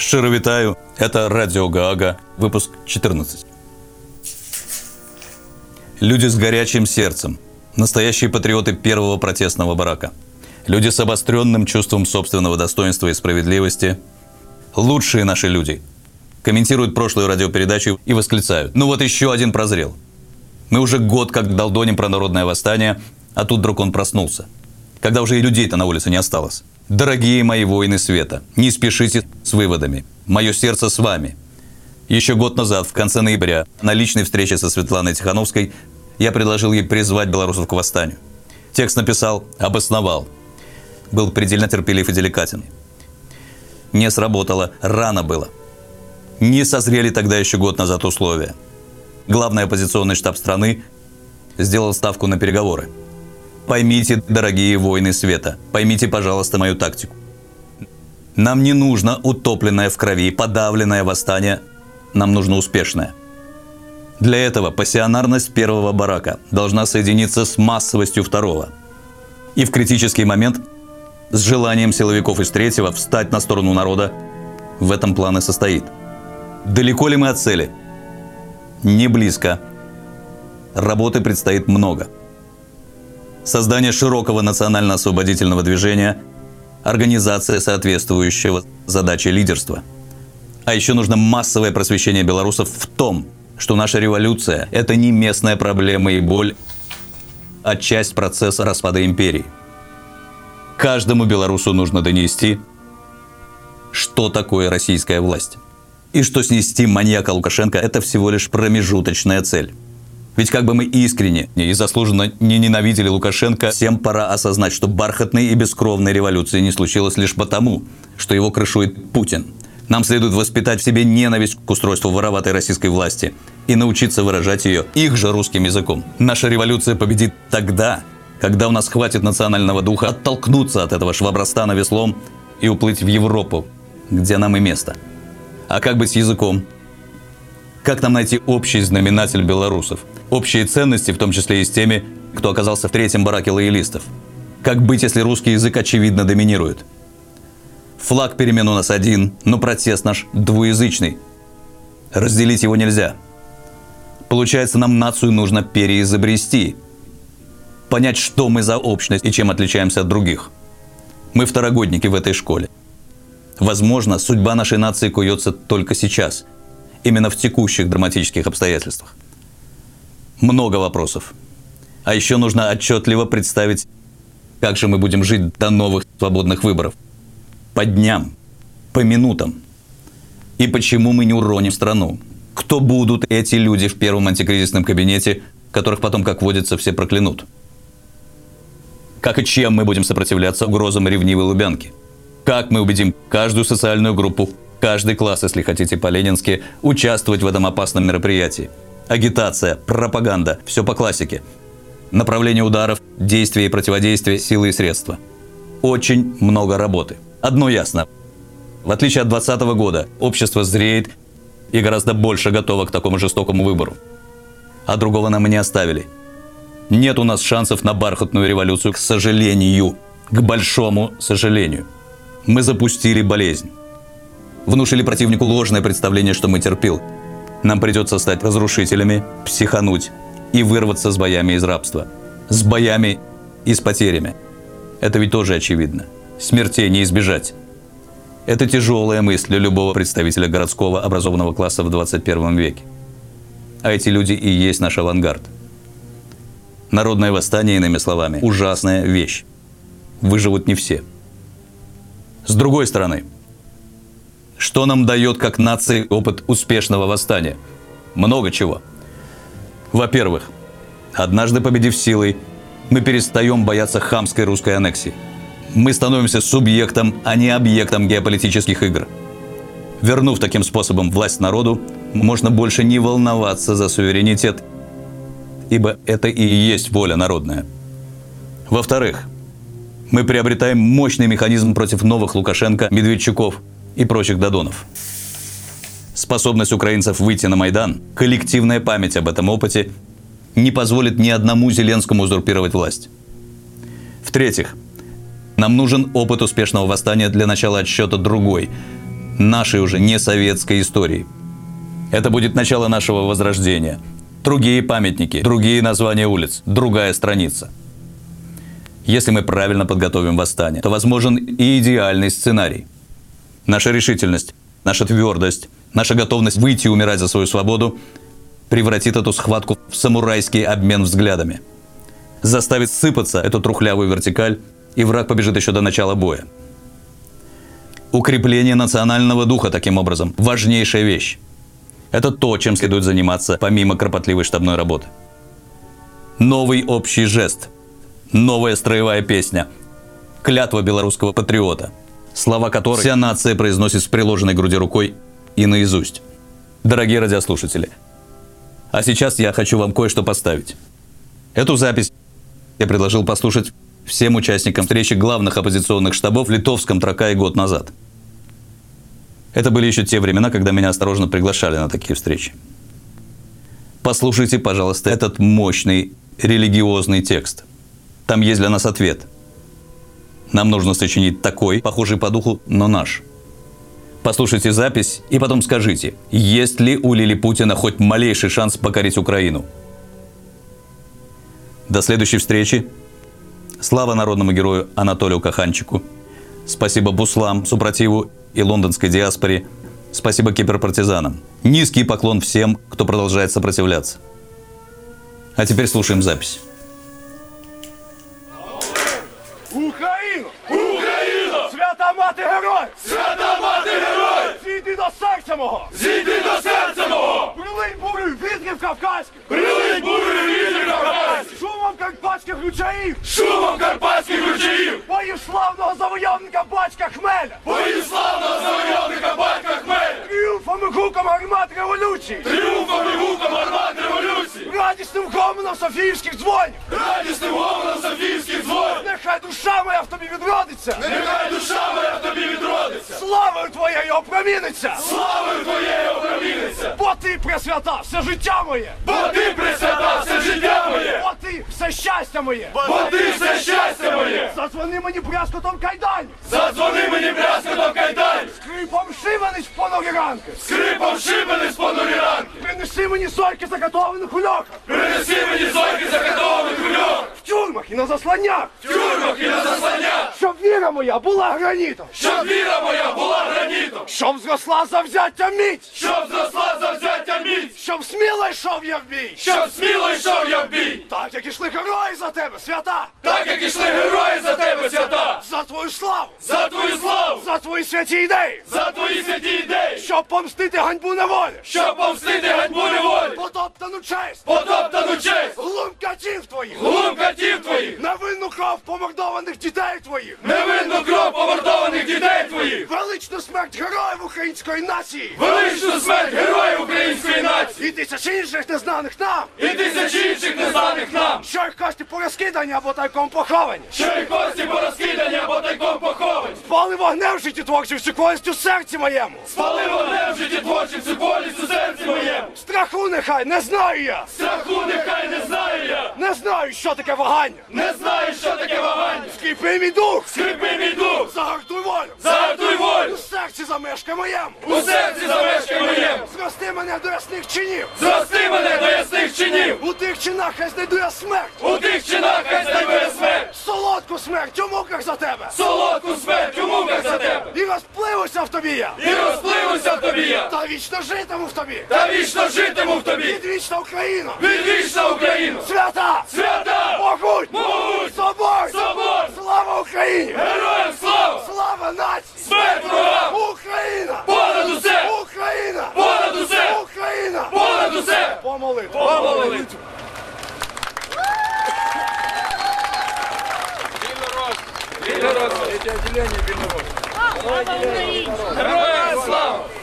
Шчыра вітаю, это радио Гаага, выпуск 14. Люди с горячим сердцем, настоящие патриоты первого протестного барака. Люди с обостренным чувством собственного достоинства и справедливости. Лучшие наши люди. Комментируют прошлую радиопередачу и восклицают: ну вот еще один прозрел. Мы уже год как долдоним про народное восстание, а тут вдруг он проснулся. Когда уже и людей-то на улице не осталось. Дорогие мои воины света, не спешите с выводами. Мое сердце с вами. Еще год назад, в конце ноября, на личной встрече со Светланой Тихановской, я предложил ей призвать белорусов к восстанию. Текст написал, обосновал. Был предельно терпелив и деликатен. Не сработало, рано было. Не созрели тогда еще год назад условия. Главный оппозиционный штаб страны сделал ставку на переговоры. Поймите, дорогие воины света, поймите, пожалуйста, мою тактику. Нам не нужно утопленное в крови, подавленное восстание, нам нужно успешное. Для этого пассионарность первого барака должна соединиться с массовостью второго. И в критический момент с желанием силовиков из третьего встать на сторону народа в этом план и состоит. Далеко ли мы от цели? Не близко. Работы предстоит много. Создание широкого национально-освободительного движения, организация соответствующего задаче лидерства. А еще нужно массовое просвещение белорусов в том, что наша революция – это не местная проблема и боль, а часть процесса распада империи. Каждому белорусу нужно донести, что такое российская власть. И что снести маньяка Лукашенко – это всего лишь промежуточная цель. Ведь как бы мы искренне и заслуженно не ненавидели Лукашенко, всем пора осознать, что бархатной и бескровной революции не случилось лишь потому, что его крышует Путин. Нам следует воспитать в себе ненависть к устройству вороватой российской власти и научиться выражать ее их же русским языком. Наша революция победит тогда, когда у нас хватит национального духа оттолкнуться от этого швабростана веслом и уплыть в Европу, где нам и место. А как быть с языком? Как нам найти общий знаменатель белорусов? Общие ценности, в том числе и с теми, кто оказался в третьем бараке лоялистов. Как быть, если русский язык очевидно доминирует? Флаг перемен у нас один, но протест наш двуязычный. Разделить его нельзя. Получается, нам нацию нужно переизобрести. Понять, что мы за общность и чем отличаемся от других. Мы второгодники в этой школе. Возможно, судьба нашей нации куется только сейчас. Именно в текущих драматических обстоятельствах. Много вопросов. А еще нужно отчетливо представить, как же мы будем жить до новых свободных выборов. По дням, по минутам. И почему мы не уроним страну? Кто будут эти люди в первом антикризисном кабинете, которых потом, как водится, все проклянут? Как и чем мы будем сопротивляться угрозам ревнивой Лубянки? Как мы убедим каждую социальную группу, каждый класс, если хотите по-ленински, участвовать в этом опасном мероприятии? Агитация, пропаганда, все по классике. Направление ударов, действия и противодействия, силы и средства. Очень много работы. Одно ясно. В отличие от 2020 года, общество зреет и гораздо больше готово к такому жестокому выбору. А другого нам и не оставили. Нет у нас шансов на бархатную революцию, к сожалению. К большому сожалению. Мы запустили болезнь. Внушили противнику ложное представление, что мы терпил. Нам придется стать разрушителями, психануть и вырваться с боями из рабства. С боями и с потерями. Это ведь тоже очевидно. Смертей не избежать. Это тяжелая мысль для любого представителя городского образованного класса в 21 веке. А эти люди и есть наш авангард. Народное восстание, иными словами, ужасная вещь. Выживут не все. С другой стороны, что нам дает как нации опыт успешного восстания? Много чего. Во-первых, однажды победив силой, мы перестаем бояться хамской русской аннексии. Мы становимся субъектом, а не объектом геополитических игр. Вернув таким способом власть народу, можно больше не волноваться за суверенитет, ибо это и есть воля народная. Во-вторых, мы приобретаем мощный механизм против новых Лукашенко, Медведчуков и прочих Додонов. Способность украинцев выйти на Майдан, коллективная память об этом опыте не позволит ни одному Зеленскому узурпировать власть. В-третьих, нам нужен опыт успешного восстания для начала отсчета другой, нашей уже не советской истории. Это будет начало нашего возрождения. Другие памятники, другие названия улиц, другая страница. Если мы правильно подготовим восстание, то возможен и идеальный сценарий. Наша решительность, наша твердость, наша готовность выйти и умирать за свою свободу превратит эту схватку в самурайский обмен взглядами. Заставит сыпаться эту трухлявую вертикаль, и враг побежит еще до начала боя. Укрепление национального духа, таким образом, важнейшая вещь. Это то, чем следует заниматься помимо кропотливой штабной работы. Новый общий жест, новая строевая песня, клятва белорусского патриота, слова которой вся нация произносит с приложенной к груди рукой и наизусть. Дорогие радиослушатели, а сейчас я хочу вам кое-что поставить. Эту запись я предложил послушать всем участникам встречи главных оппозиционных штабов в Литовском Тракае год назад. Это были еще те времена, когда меня осторожно приглашали на такие встречи. Послушайте, пожалуйста, этот мощный религиозный текст. Там есть для нас ответ. Нам нужно сочинить такой, похожий по духу, но наш. Послушайте запись и потом скажите, есть ли у Лилипутина хоть малейший шанс покорить Украину. До следующей встречи. Слава народному герою Анатолию Каханчику. Спасибо Буслам, Супротиву и лондонской диаспоре. Спасибо киберпартизанам. Низкий поклон всем, кто продолжает сопротивляться. А теперь слушаем запись. Україно! Україно! Свята мати героїв! Свята мати героїв! Зійди до серця мого! Зійди до серця мого! Прилинь бурю вітрів кавказьких! Прилинь бурю вітрів кавказьких! Шумом карпатських ручаїв! Шумом карпатських ручаїв! Боїв славного завойовника батька Хмеля! Боїв славного завойовника батька Хмеля! Тріумфом і гуком гармат революції! Тріумфом і гуком гармат революції! Радісним гомоном Софіївських дзвонів! Радісним гомоном Софіївських дзвонів! Нехай душа моя в тобі відродиться! Нехай душа моя в тобі відродиться! Славою твоєю опроміниться! Славою твоєю опроміниться! Бо ти, пресвята, все життя моє! Бо ти, пресвята, все життя моє! Бо ти, все щастя моє! Бо ти, все щастя моє! Задзвони мені брязкотом кайданів! Задзвони мені брязкотом кайданів! Скрипом шибениць в понурі ранки! Скрипом шибениць понурі ранки! Принеси мені сойки закатованих у льохах! Принеси мені зойки закатованих у льох! В тюрмах і на засланнях! В тюрмах і на засланнях! Щоб віра моя була гранітом! Щоб віра моя була гранітом! Щоб зросла завзяття міць! Щоб зросла завзяття міць! Щоб сміло йшов я в бій! Щоб сміло йшов я в бій! Так, як ішли герої за тебе, свята! Так, як ішли герої за тебе, свята! За твою славу! За твою славу! За твої святі ідеї! За твої святі ідеї! Щоб помстити ганьбу неволі! Щоб помстити ганьбу неволі! Потоптану честь! Потоптану честь! Глум катів твоїх! Глум катів твоїх! Невинну кров помордованих дітей твоїх! Невинну кров помордованих дітей твоїх! Величну смерть героїв української нації! Величну смерть героїв української нації! І тисячі інших незнаних нам! І тисячі інших незнаних нам! Що їх кості порозкидані або тайком поховані! Що їх кості порозкидані або тайком поховані! Спали вогнем в житті творчим всю колість у серці моєму! Спали вогнем в житті творчим всю болість у серці моєму! Страху нехай не знаю я! Страху нехай не знаю я! Не знаю, що таке вагання! Не знаю, що таке вагання! Скріпи мій дух! Скріпи мій дух! Загартуй волю! Загартуй волю! У серці замешкай моєму! У серці замешкай моєму! Зрости мене до ясних чинів! Зрости мене до ясних чинів! У тих чинах хай знайду я смерть! У тих чинах хай знайду я смерть! Солодку смерть у муках за тебе! Солодку смерть у муках за тебе! І розпливуся в тобі я! І розпливуся в тобі я! Та вічно житиму в тобі! Та вічно житиму в тобі! Відвічна Україна! Відвічна Україну! Свята! Свята! Могуть! Могуть! Собор! Собор! Слава Україні! Героям слава! Слава нації! Смерть ворогам! Україна! Понад усе! Україна! Понад усе! Україна! Понад усе! Помолитва! Помолитва! Героям слава!